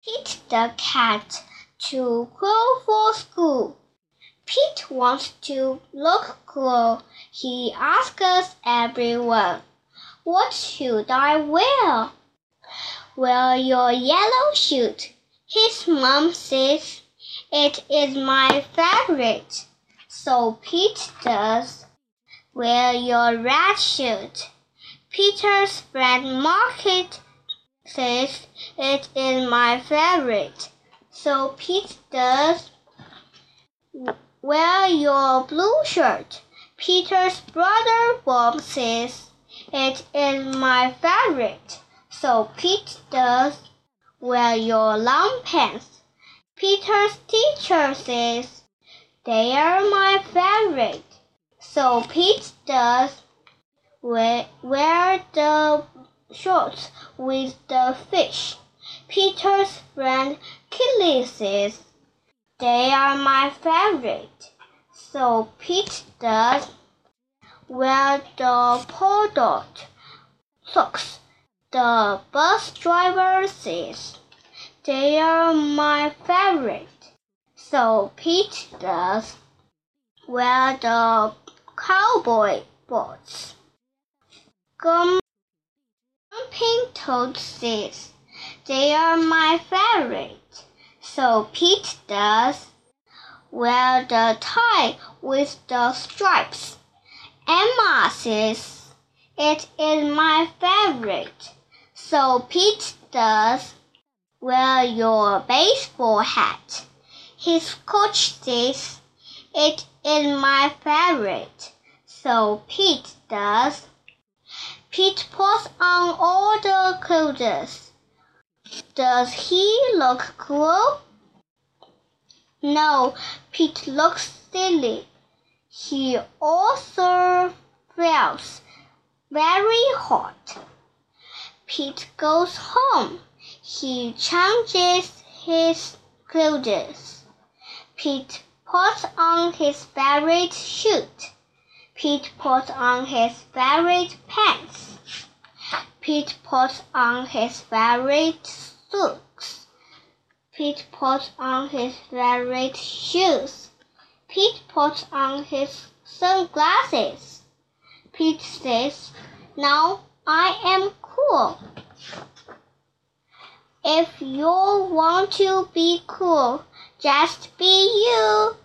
Pete the cat to grow for school. Pete wants to look cool. He asks everyone, "What should I wear?" "Wear your yellow suit," his mom says. "It is my favorite." So Pete does. "Wear your red suit." Peter's friend Market says, "It is my favorite." So Pete does. "Wear your blue shirt." Peter's brother Bob says, "It is my favorite." So Pete does. "Wear your long pants." Peter's teacher says, "They are my favorite." So Pete does. "Wear the shorts with the fish." Peter's friend Killy says, "They are my favorite." So Pete does. "Wear the polka dot socks." The bus driver says, "They are my favorite." So Pete does. "Wear the cowboy boots." Grumpy Toad says, "They are my favorite." So Pete does. "Wear the tie with the stripes." Emma says, "It is my favorite." So Pete does. "Wear your baseball hat." His coach says, "It is my favorite." So Pete does. Pete puts on all the clothes. Does he look cool? No, Pete looks silly. He also feels very hot. Pete goes home. He changes his clothes. Pete puts on his favorite suit. Pete puts on his favorite pants. Pete puts on his favorite socks. Pete puts on his favorite shoes. Pete puts on his sunglasses. Pete says, "Now I am cool." If you want to be cool, just be you.